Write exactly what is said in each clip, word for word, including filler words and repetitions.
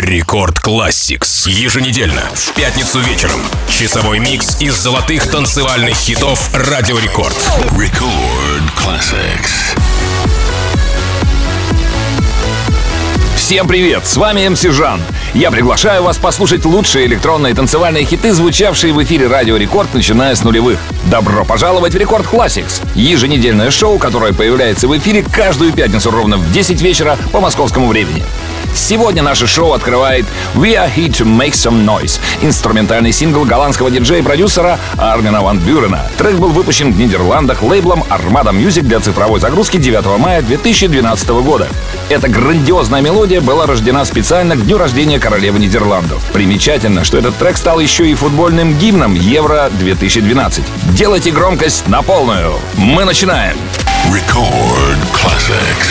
Рекорд Classics. Еженедельно, в пятницу вечером. Часовой микс из золотых танцевальных хитов Радио Рекорд. Record Classics. Всем привет, с вами эм си Жан. Я приглашаю вас послушать лучшие электронные танцевальные хиты, звучавшие в эфире Радио Рекорд, начиная с нулевых. Добро пожаловать в Рекорд Classics, еженедельное шоу, которое появляется в эфире каждую пятницу ровно в десять вечера по московскому времени. Сегодня наше шоу открывает «We Are Here To Make Some Noise», инструментальный сингл голландского диджея и продюсера Армина ван Бюрена. Трек был выпущен в Нидерландах лейблом Armada Music для цифровой загрузки девятого мая две тысячи двенадцатого года. Эта грандиозная мелодия была рождена специально к дню рождения королевы Нидерландов. Примечательно, что этот трек стал еще и футбольным гимном Евро две тысячи двенадцать. Делайте громкость на полную. Мы начинаем. Record Classics.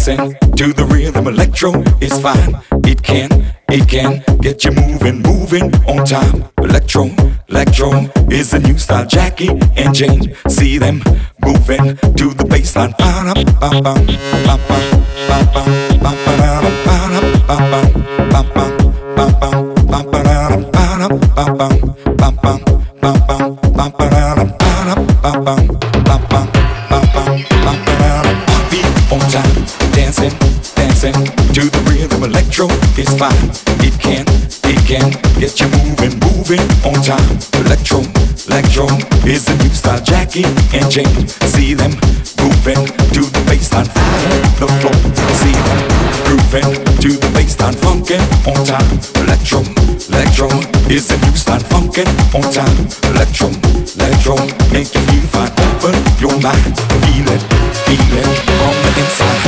dancing to the rhythm. Electro is fine. It can, it can get you moving, moving on time. Electro, electro is a new style. Jackie and Jane, see them moving to the bassline. Beat on time, dancing, dancing to the rhythm. Electro is fine. It can, it can get you moving, moving on time. Electro, electro is a new style. Jackie and Jane, see them moving to the bassline. The floor, see them grooving to the bassline. Funkin' on time. Electro, electro is a new style. Funkin' on time. Electro, electro make you feel fine. Open your mind, feel it, feel it from the inside.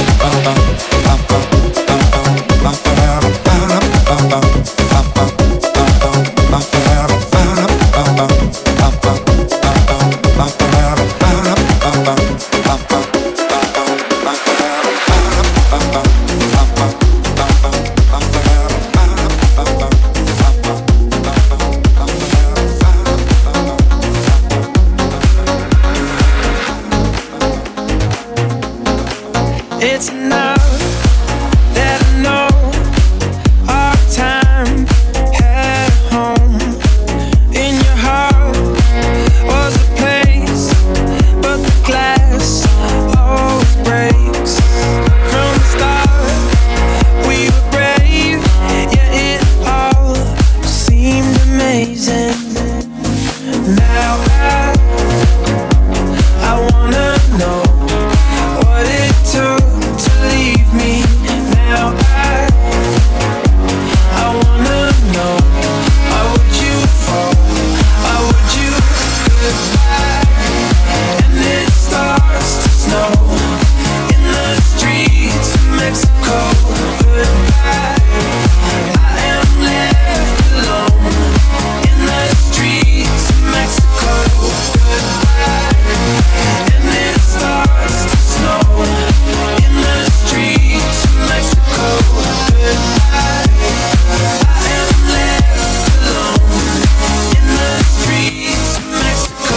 It's enough that I know our time at home. In your heart was a place, but the glass always breaks. From the start, we were brave, yeah, it all seemed amazing. Now I, I wanna know what it took to leave me. Now I, I wanna know, why would you fall? Why would you goodbye? And it starts to snow in the streets of Mexico. Goodbye, I am left alone in the streets of Mexico. Goodbye, and it starts to snow in the streets of Mexico. Goodbye, I am left alone in the streets of Mexico.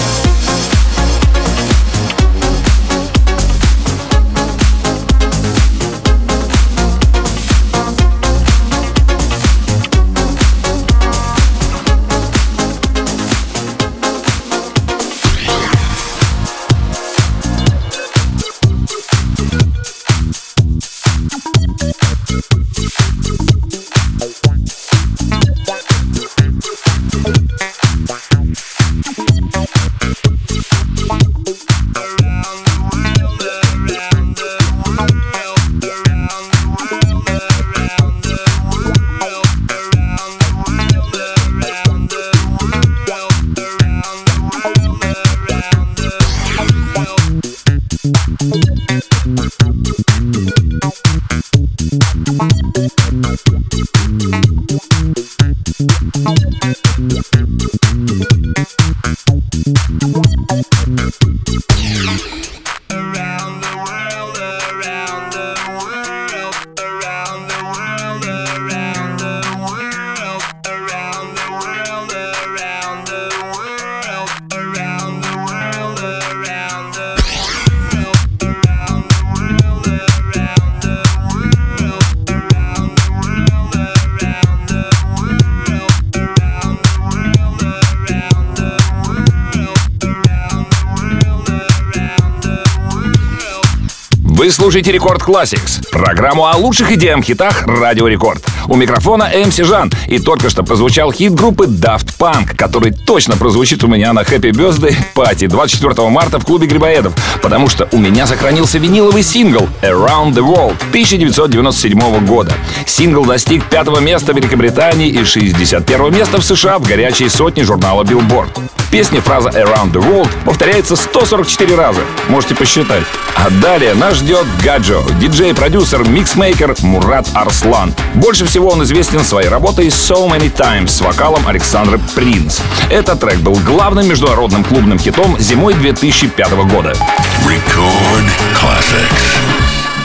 Вы слушаете Рекорд Classics, программу о лучших идеях-хитах Радио Рекорд. У микрофона эм си Жан, и только что прозвучал хит группы Daft Punk, который точно прозвучит у меня на Happy Birthday Party двадцать четвёртого марта в клубе Грибоедов, потому что у меня сохранился виниловый сингл Around the World тысяча девятьсот девяносто седьмого года. Сингл достиг пятого места в Великобритании и шестьдесят первого места в США в горячей сотне журнала Billboard. В песне фраза Around the World повторяется сто сорок четыре раза, можете посчитать. А далее нас ждет Гаджо, диджей-продюсер, миксмейкер Мурат Арслан. Больше всего он известен своей работой So Many Times с вокалом Александра Принц. Этот трек был главным международным клубным хитом зимой две тысячи пятого года. Record Classics.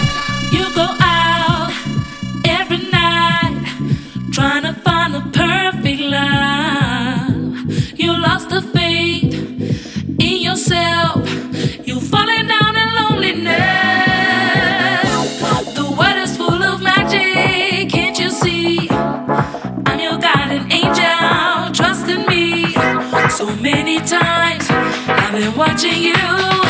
Watching you.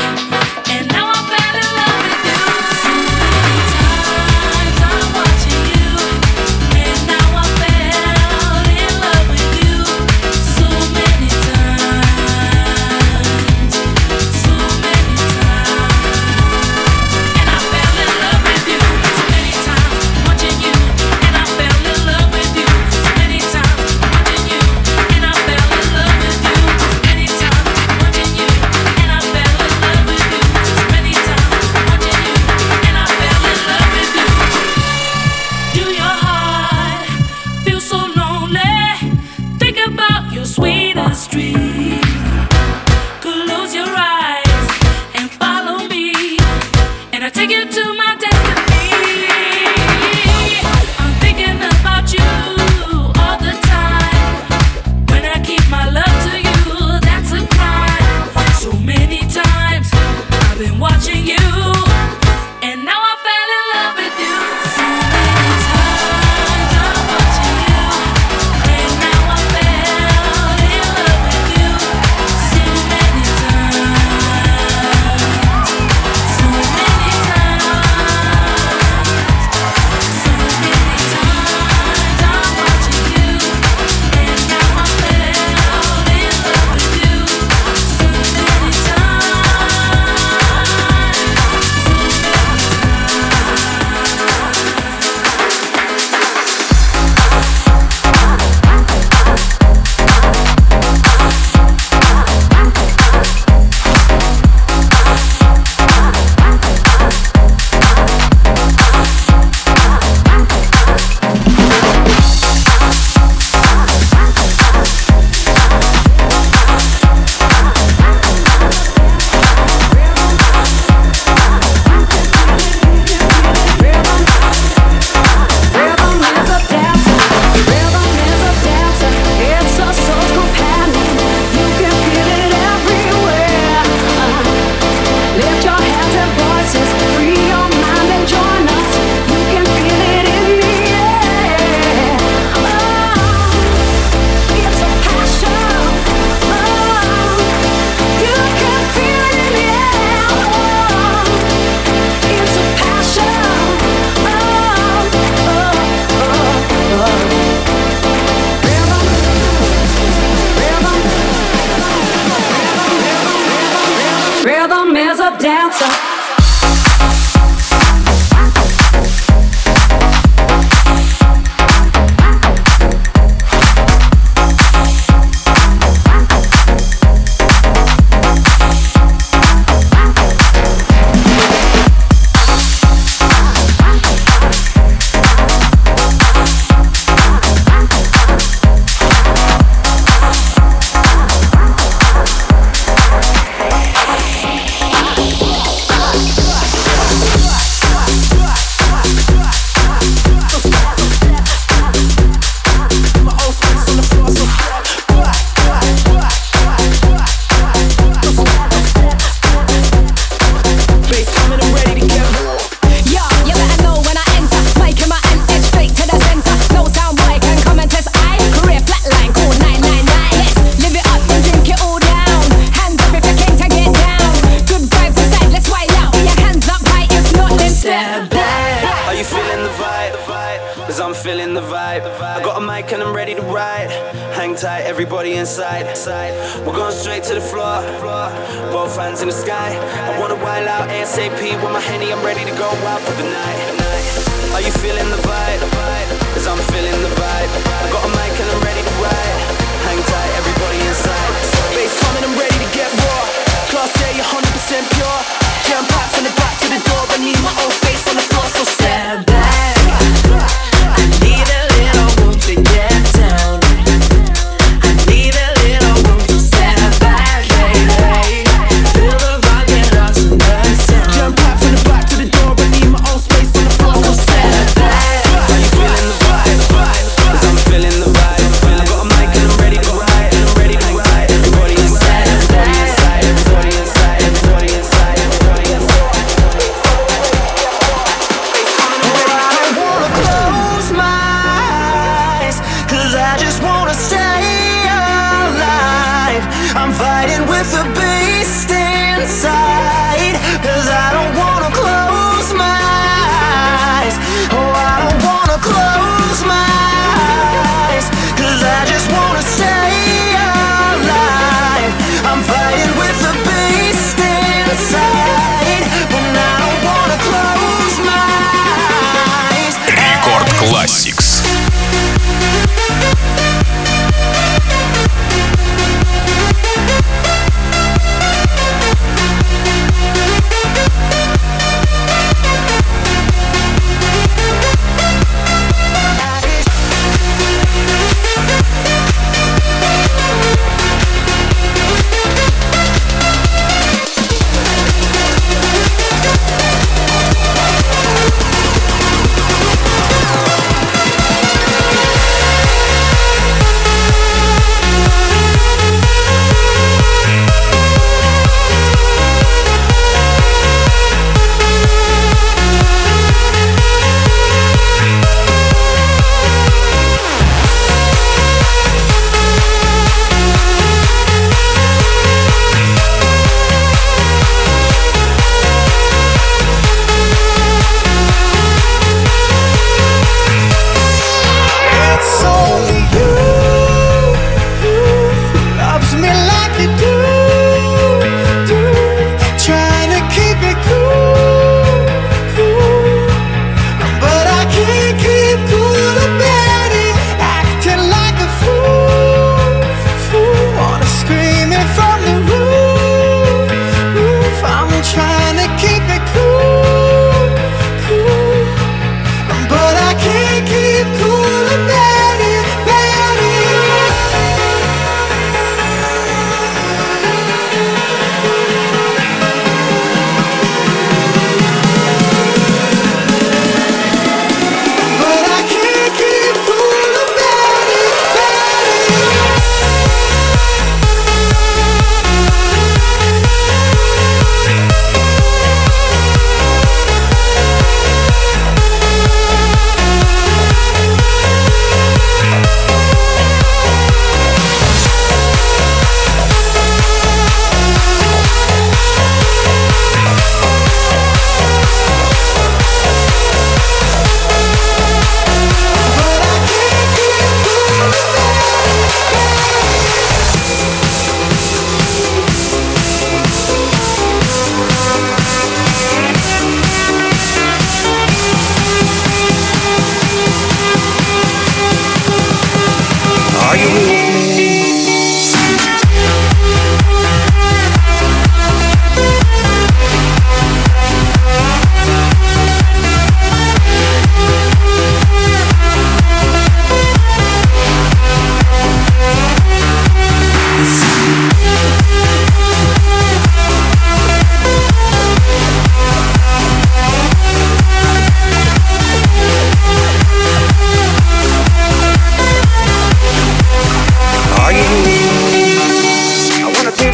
Everybody inside, we're going straight to the floor. Both hands in the sky. I wanna wild out ASAP with my Henny. I'm ready to go out for the night. Are you feeling the vibe? Cause I'm feeling the vibe. I got a mic and I'm ready to ride. Hang tight, everybody inside. Bass coming, I'm ready to get raw. Class A, one hundred percent pure. Jam packed from the back to the door. I need my own space on the floor, so stand back. I need a little room to get down. Feel the vibe, get lost in the sound. Jump back from the back to the door, I need my own space on the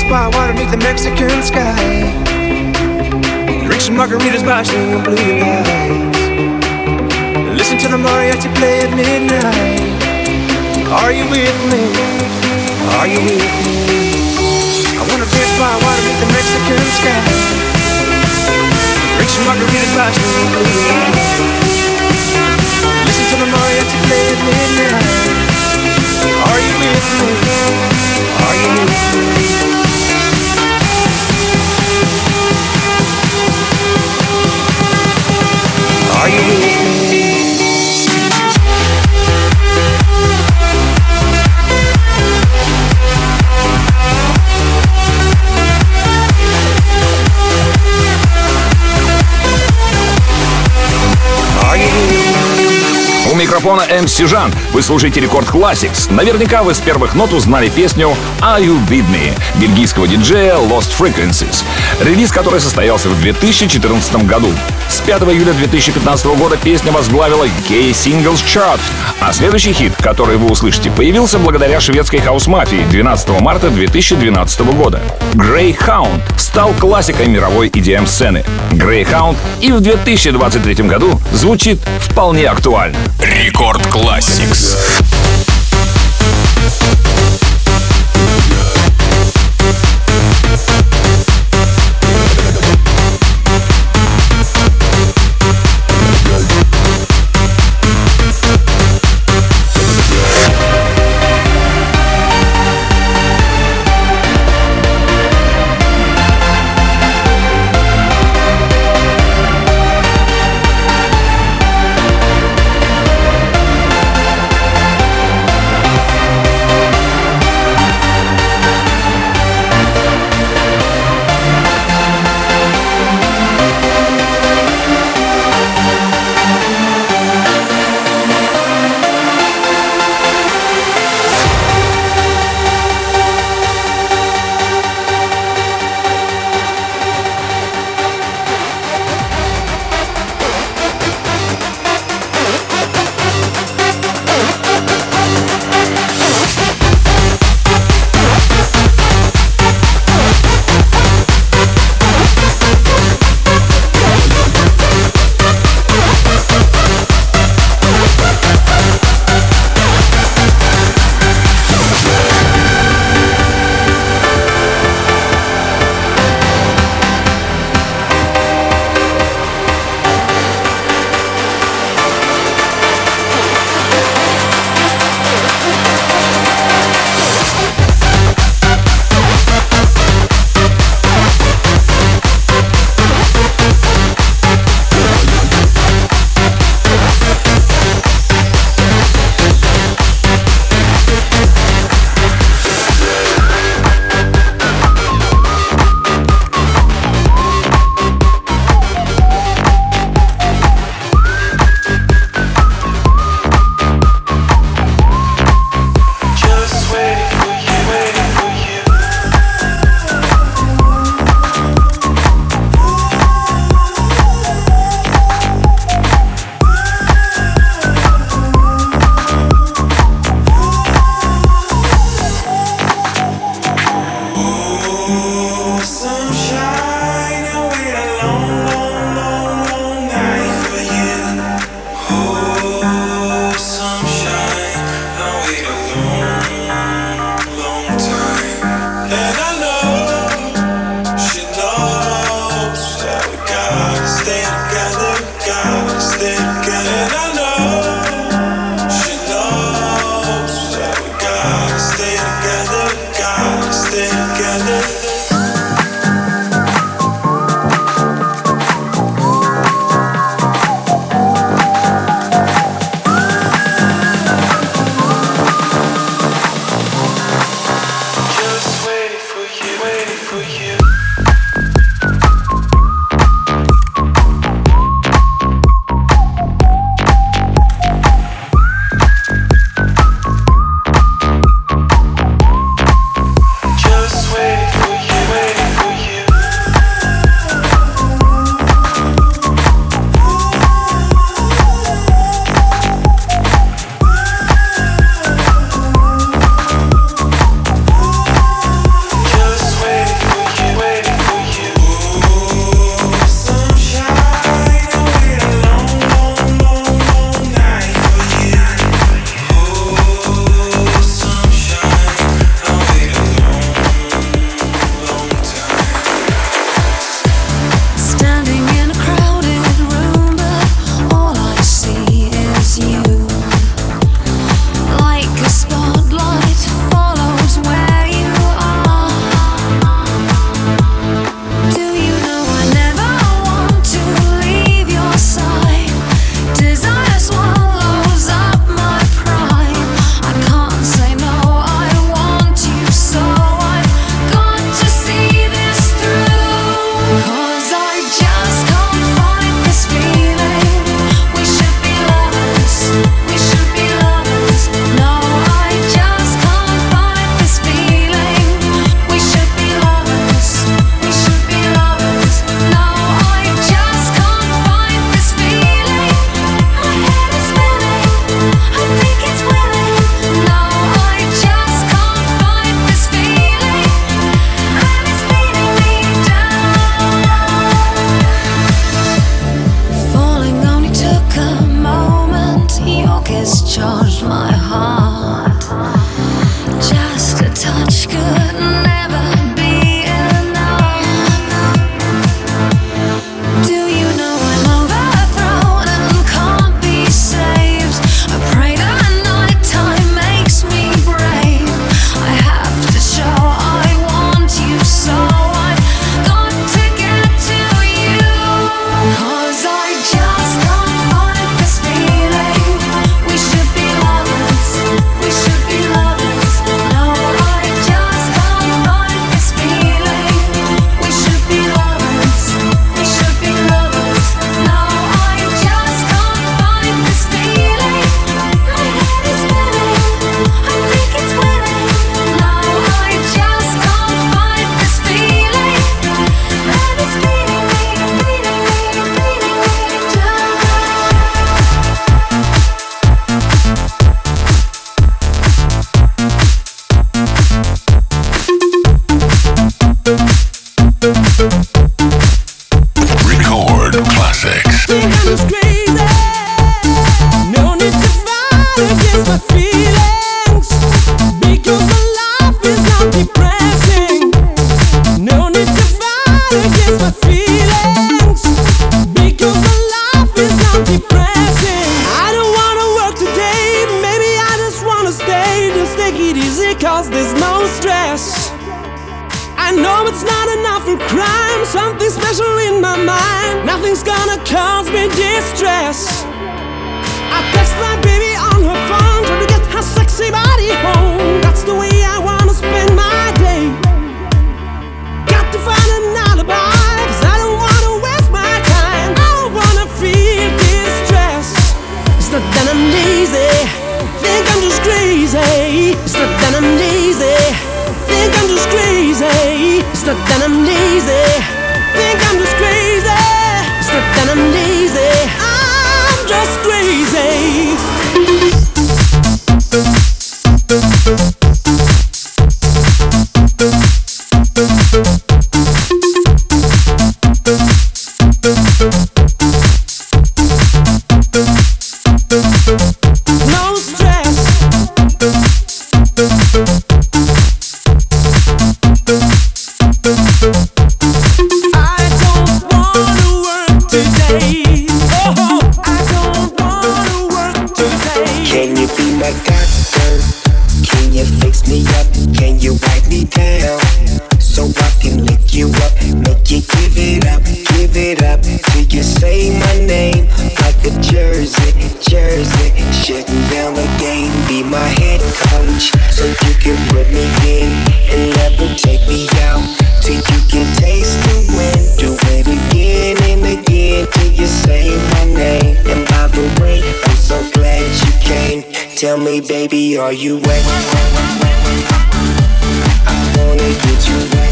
spot water beneath the Mexican sky. Drink some margaritas by swinging blue lights. Listen to the mariachi play at midnight. Are you with me? Are you with me? I wanna drink spot water beneath the Mexican sky. Drink some margaritas by swinging blue lights. Listen to the mariachi play at midnight. Are you with me? Are you with me? Are you with me? У микрофона эм си Жан. Вы слушаете Рекорд Classics. Наверняка вы с первых нот узнали песню Are You With Me бельгийского диджея Lost Frequencies, релиз который состоялся в две тысячи четырнадцатом году. С пятого июля две тысячи пятнадцатого года песня возглавила ю кей Singles Chart, а следующий хит, который вы услышите, появился благодаря шведской хаус-мафии двенадцатого марта две тысячи двенадцатого года. Greyhound стал классикой мировой и ди эм-сцены. Greyhound и в две тысячи двадцать третьем году звучит вполне актуально. Рекорд Classics. Just wait for I know it's not enough for crime. Something special in my mind. Nothing's gonna cause me distress. I text my baby on her phone, trying to get her sexy body home. That's the way I wanna spend my day. Got to find an alibi, cause I don't wanna waste my time. I don't wanna feel distress. It's not that I'm lazy, think I'm just crazy. It's not that I'm lazy, think I'm just crazy. It's not that I'm lazy, think I'm just crazy. It's not that I'm lazy, I'm just crazy. No stress. I don't wanna work today. Oh, I don't wanna work today. Can you be my doctor? Can you fix me up? Can you wipe me down? So I can lick you up, make you give it up, give it up till you say my name like a jersey, jersey. Shutting down the game, be my head coach, so you can put me in and never take me out till you can taste the wind. Do it again and again till you say my name. And by the way, I'm so glad you came. Tell me, baby, are you wet? I wanna get you wet.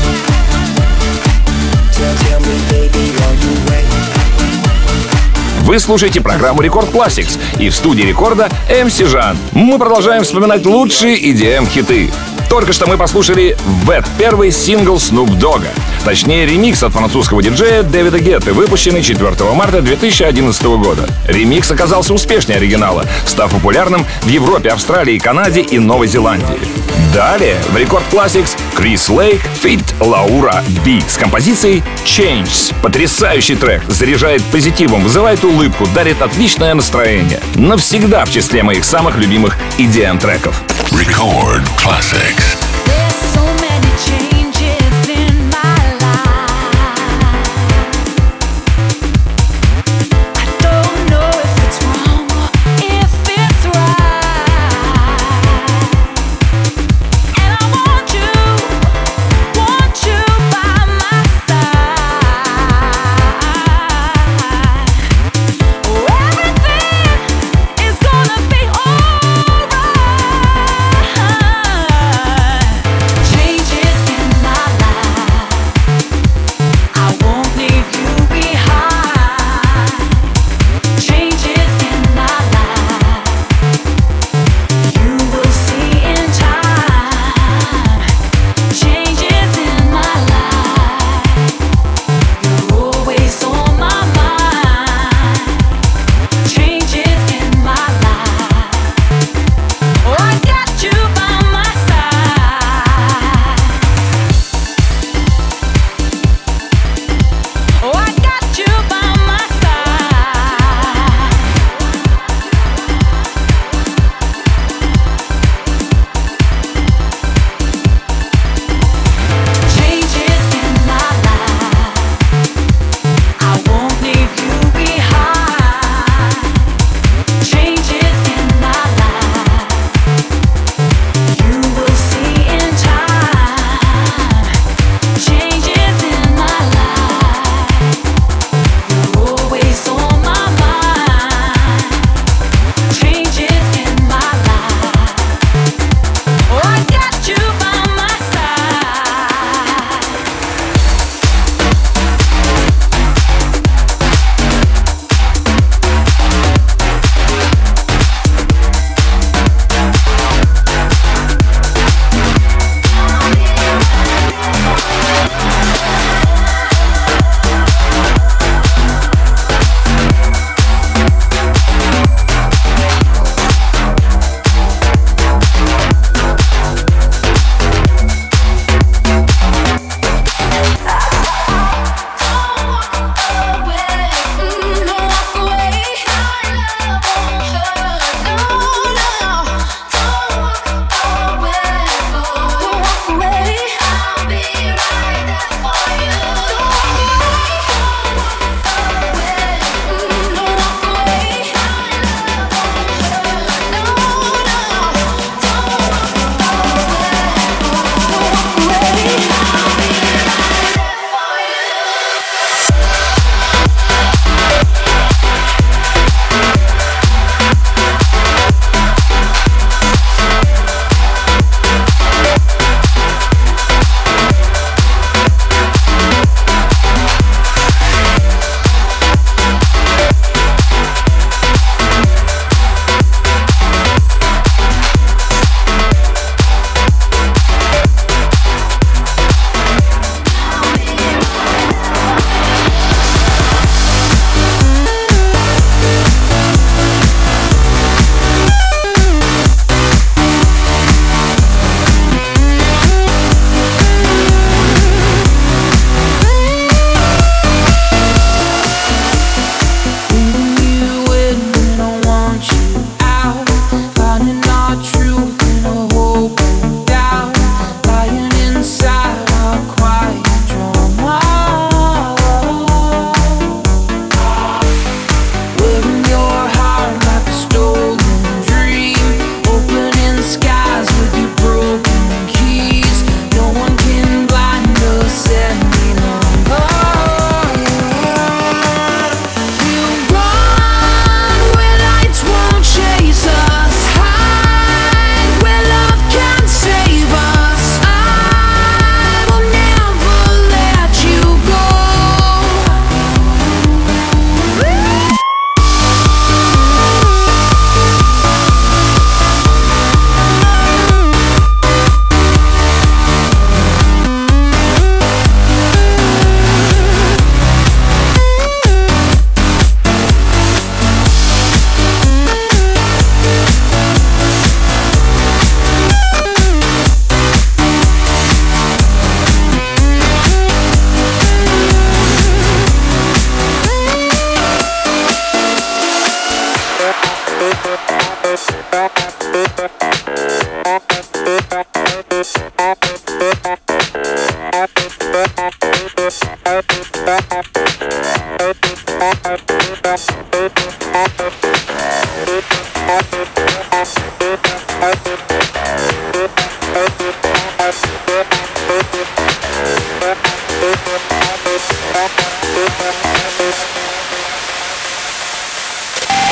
Tell, tell me, baby, are you wet? Вы слушаете программу Рекорд Classics, и в студии Рекорда эм си Жан. Мы продолжаем вспоминать лучшие и ди эм-хиты. Только что мы послушали Wet, первый сингл Snoop Dogg. Точнее, ремикс от французского диджея Дэвида Гетты, выпущенный четвёртого марта две тысячи одиннадцатого года. Ремикс оказался успешнее оригинала, став популярным в Европе, Австралии, Канаде и Новой Зеландии. Далее в Рекорд Classics Крис Лейк фит Лаура Би с композицией Changes. Потрясающий трек, заряжает позитивом, вызывает улыбку, дарит отличное настроение. Навсегда в числе моих самых любимых и ди эм-треков. Record Classics. There's so many changes in my life. I don't know if it's wrong or if it's right. And I want you, want you by my side. Oh, everything is gonna be alright.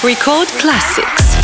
Record Classics.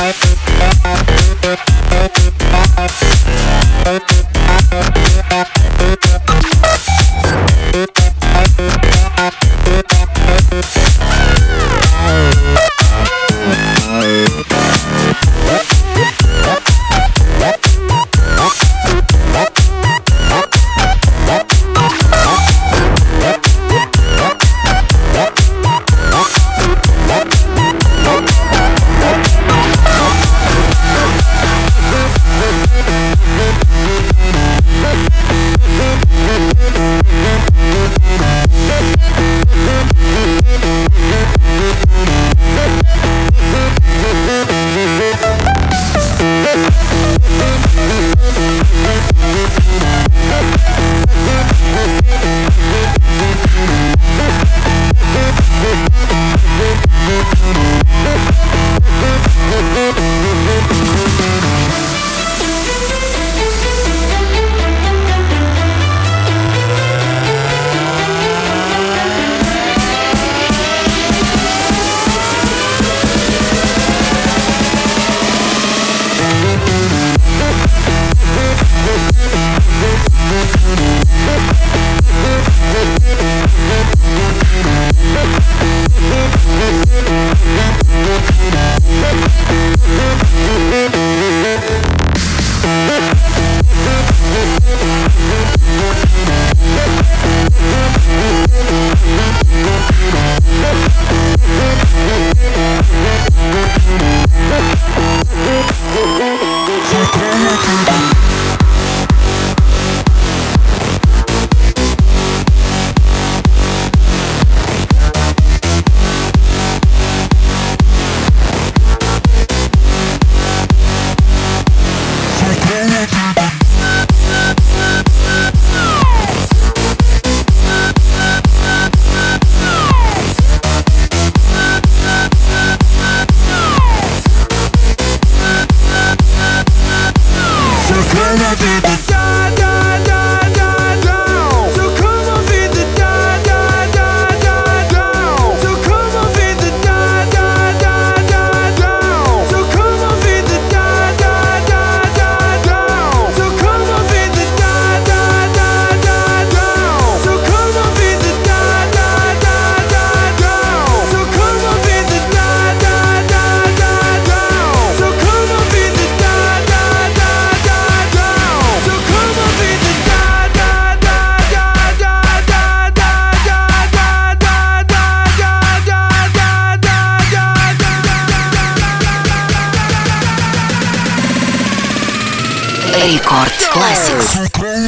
Record Classics.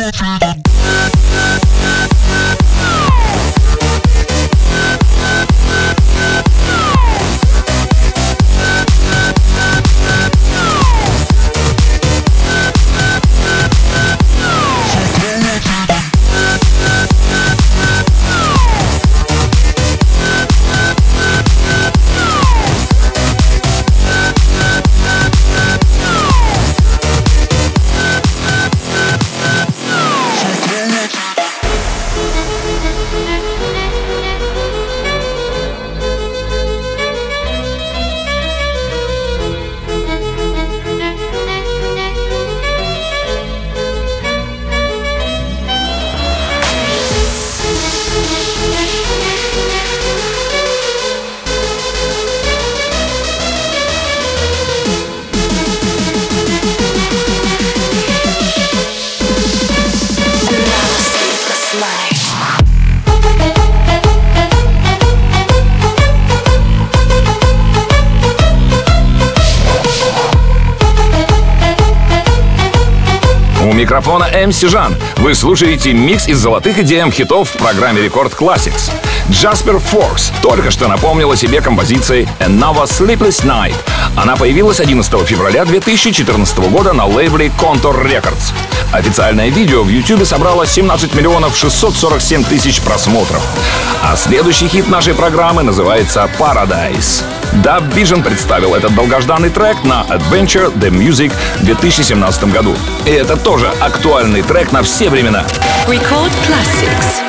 У микрофона эм си Жан. Вы слушаете микс из золотых и ди эм-хитов в программе Record Classics. Jasper Fox только что напомнил о себе композицией Another Sleepless Night. Она появилась одиннадцатого февраля две тысячи четырнадцатого года на лейбле Contour Records. Официальное видео в YouTube собрало семнадцать миллионов шестьсот сорок семь тысяч просмотров. А следующий хит нашей программы называется Paradise. Dub Vision представил этот долгожданный трек на Adventure The Music в две тысячи семнадцатом году. И это тоже актуальный трек на все времена. Record Classics.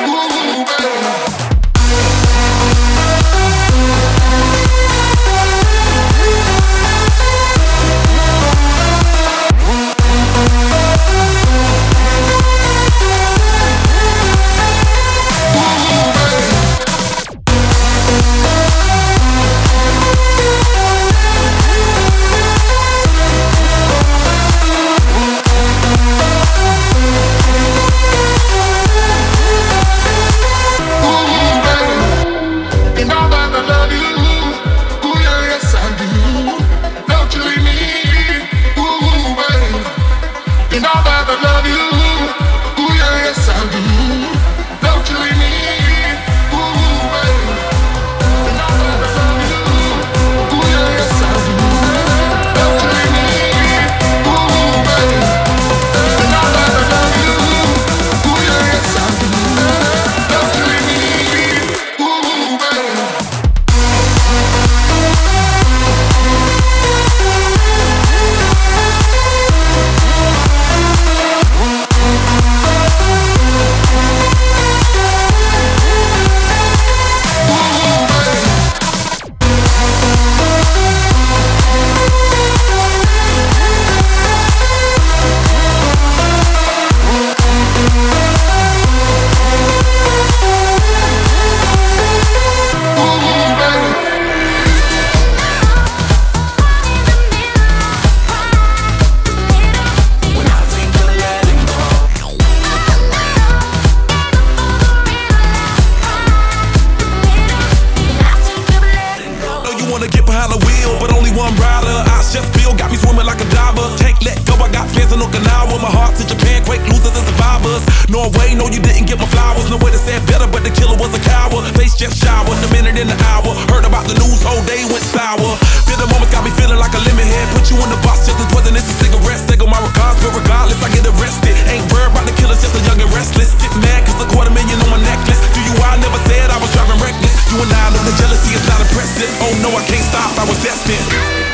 driver. Can't let go, I got fans in Okinawa. My heart to Japan, quake losers and survivors. Norway, no, you didn't get my flowers. No way to say it better, but the killer was a coward. Face just showered, the minute in the hour. Heard about the news, whole day went sour. Bitter moments got me feeling like a lemon head. Put you in the box just as poisonous as cigarettes. Take my regards, but regardless, I get arrested. Ain't worried about the killers, just a young and restless. Get mad cause a quarter million on my necklace. Do you I never said I was driving reckless. You and I know the jealousy is not impressive. Oh no, I can't stop, I was destined.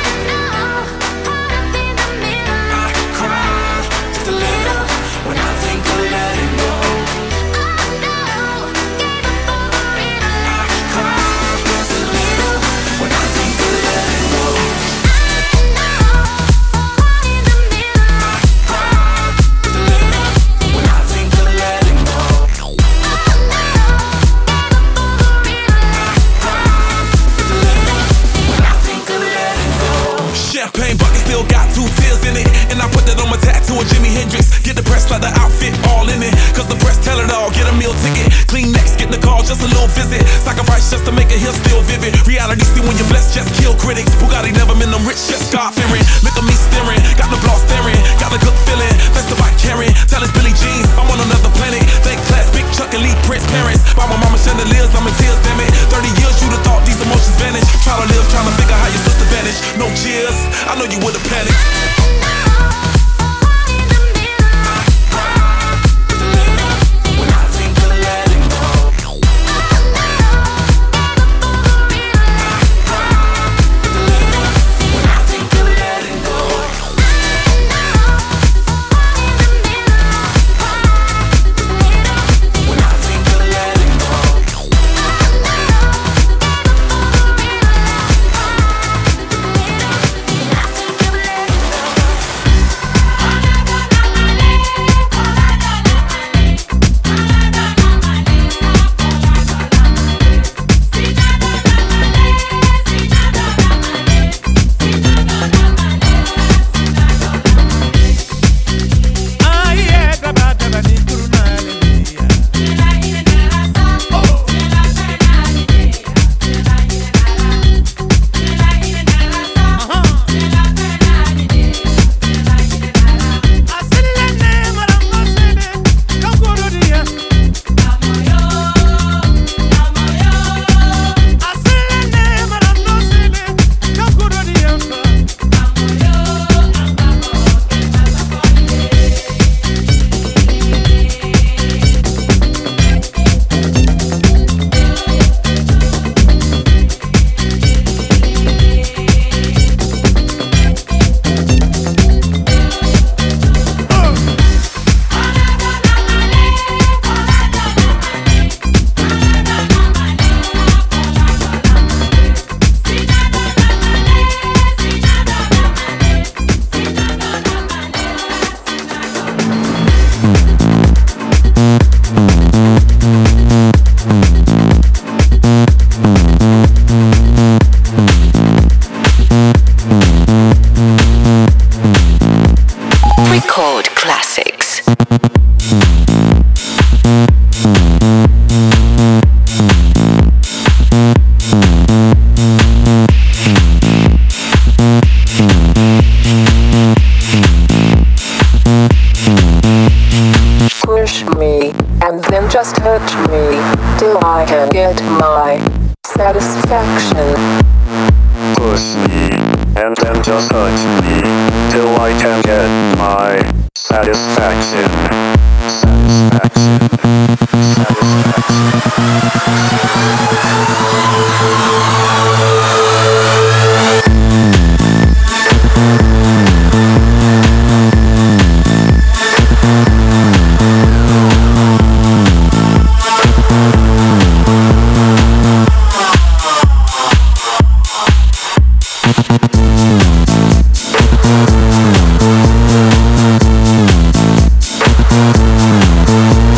I cry just a little when I think of letting go. Champagne bucket still got two tears in it, and I put that on my tattoo of Jimi Hendrix. Get the press like the outfit all in it, cause the press tell it all. Get a meal ticket, clean next, get the call, just a little visit. Sacrifice just to make it here still vivid. Reality see when you're blessed, just kill critics. Bugatti never been them rich, just God fearing. Look at me staring, got the blood staring, got a good feeling. That's the bike carrying, tell us Billie Jeans, I'm on another planet. Thank class, big Chuck, elite Prince parents. By my mama chandeliers, I'm in tears, damn it. thirty years you'd have thought these emotions vanished. Try to live, trying to figure how your sister vanished. No cheers, I know you would've panicked. Just touch me till I can get my satisfaction. Push me and then just touch me till I can get my satisfaction. Satisfaction. Satisfaction.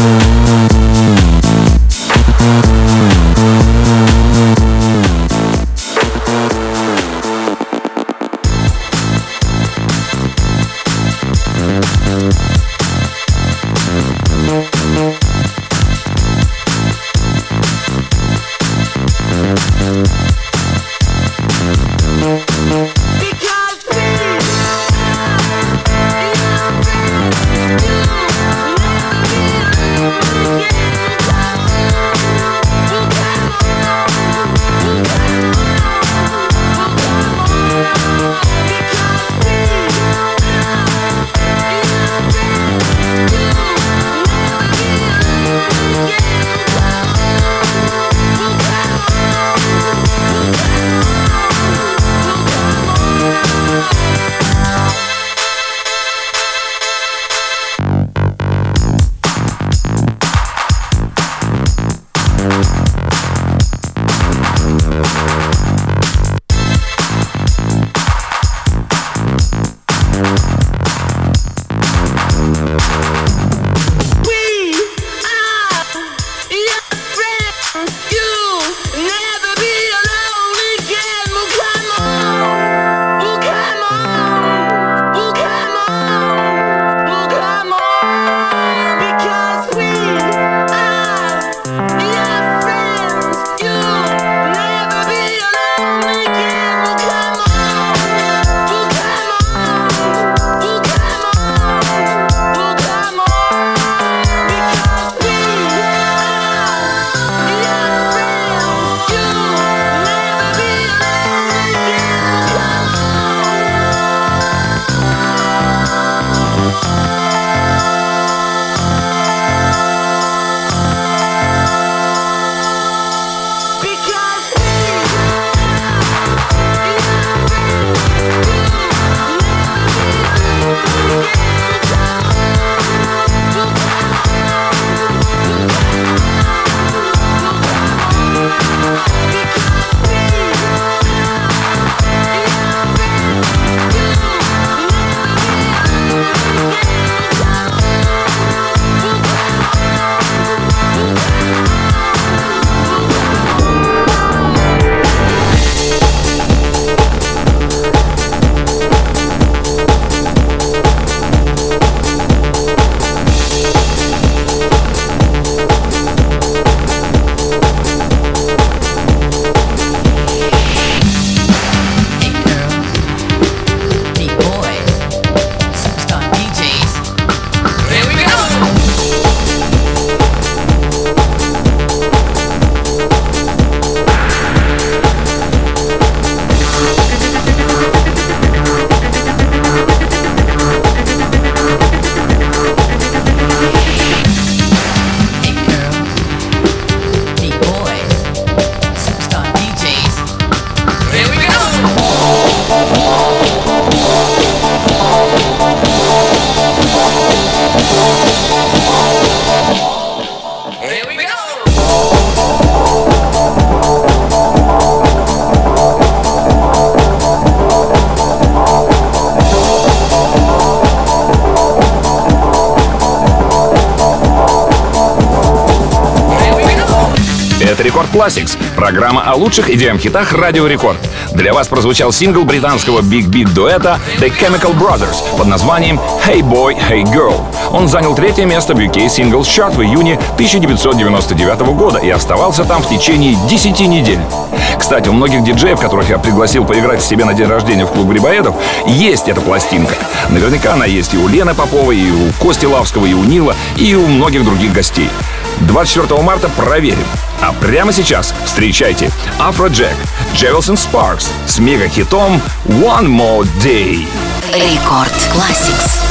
Это Рекорд Classics, программа о лучших и ди эм-хитах Радио Рекорд. Для вас прозвучал сингл британского биг-биг дуэта The Chemical Brothers под названием Hey Boy, Hey Girl. Он занял третье место в ю кей Singles Chart в июне тысяча девятьсот девяносто девятого года и оставался там в течение десяти недель. Кстати, у многих диджеев, которых я пригласил поиграть себе на день рождения в клуб Грибоедов, есть эта пластинка. Наверняка она есть и у Лены Поповой, и у Кости Лавского, и у Нила, и у многих других гостей. двадцать четвёртого марта проверим. А прямо сейчас встречайте Afrojack, Jefferson Sparks с мега-хитом One More Day. Рекорд Classics.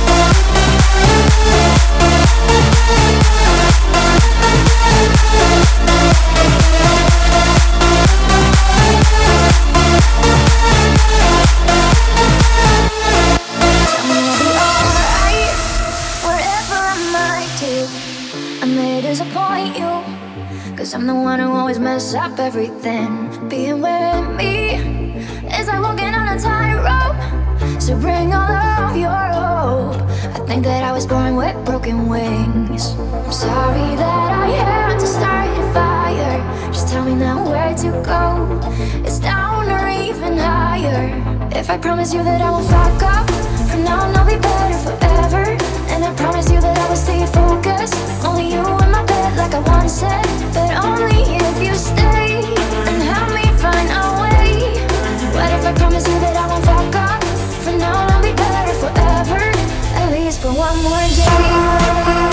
I'm the one who always mess up everything. Being with me is like walking on a tightrope. So bring all of your hope. I think that I was born with broken wings. I'm sorry that I had to start a fire. Just tell me now where to go. It's down or even higher. If I promise you that I won't fuck up, from now on I'll be better forever. And I promise you that I will stay focused. Only you in my bed like I once said. But only if you stay and help me find a way. What if I promise you that I won't fuck up? From now on I'll be better forever. At least for one more day.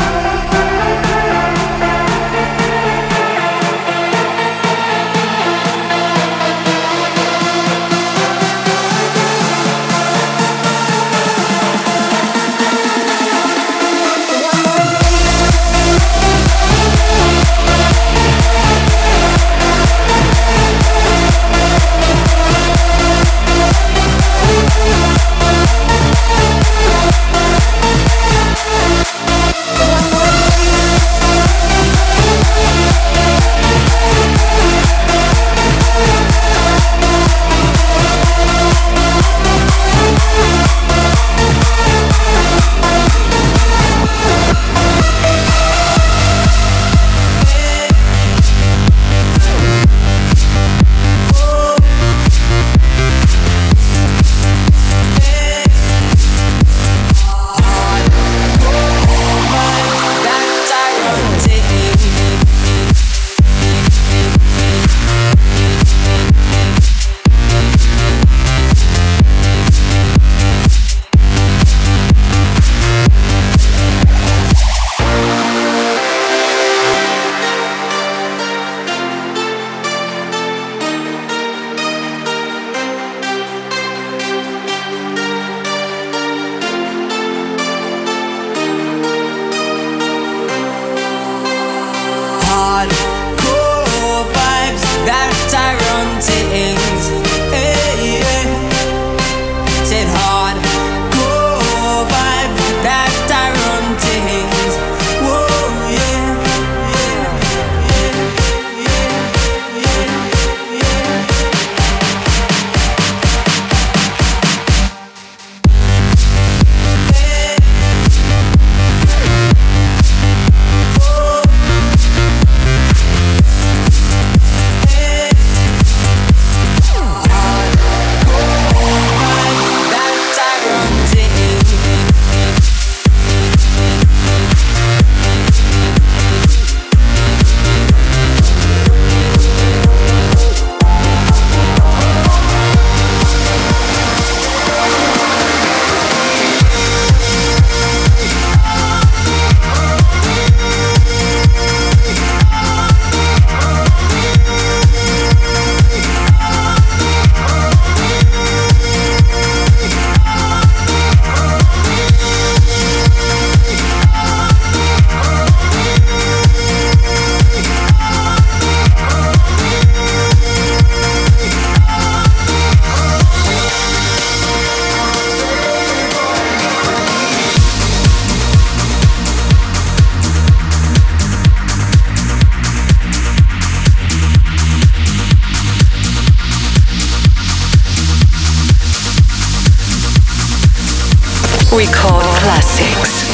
Record Classics.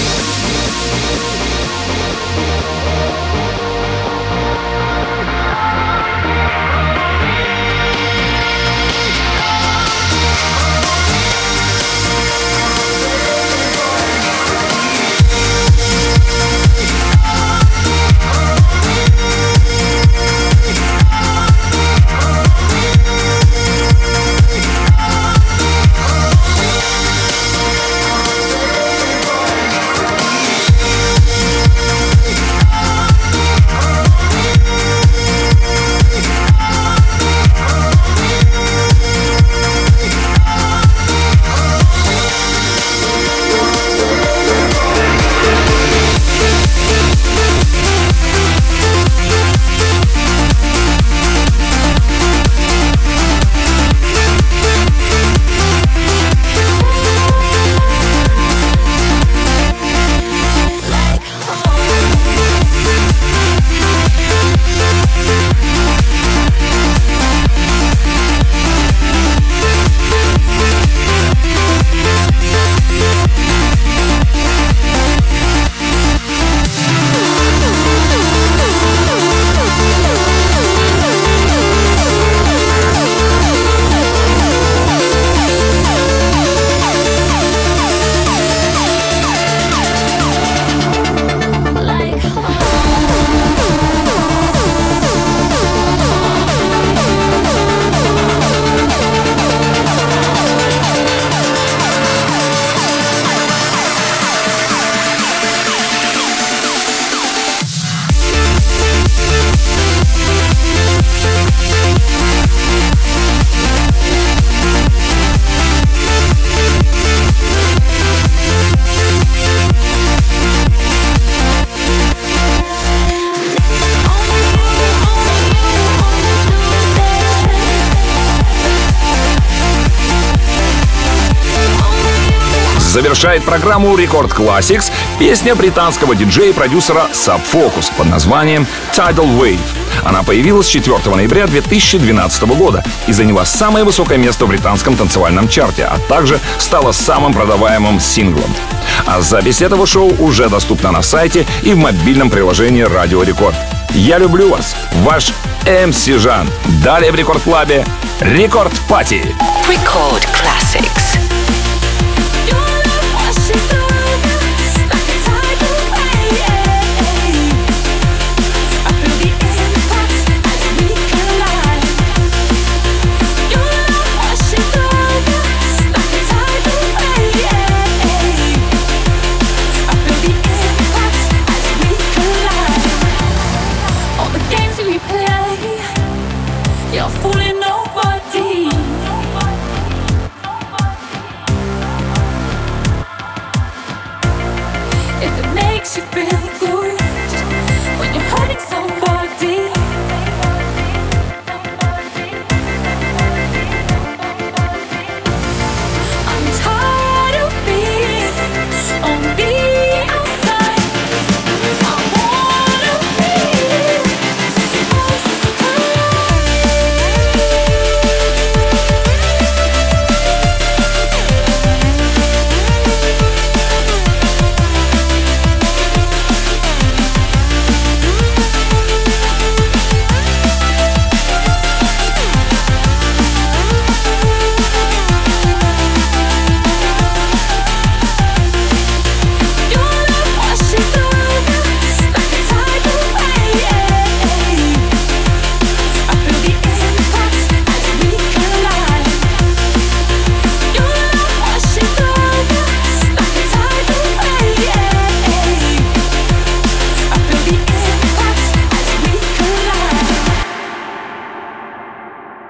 Завершает программу Рекорд Classics песня британского диджея и продюсера Sub Focus под названием Tidal Wave. Она появилась четвёртого ноября две тысячи двенадцатого года и заняла самое высокое место в британском танцевальном чарте, а также стала самым продаваемым синглом. А запись этого шоу уже доступна на сайте и в мобильном приложении Радио Рекорд. Я люблю вас, ваш эм си Жан. Далее в Рекорд Клабе Рекорд Пати. Record Classics.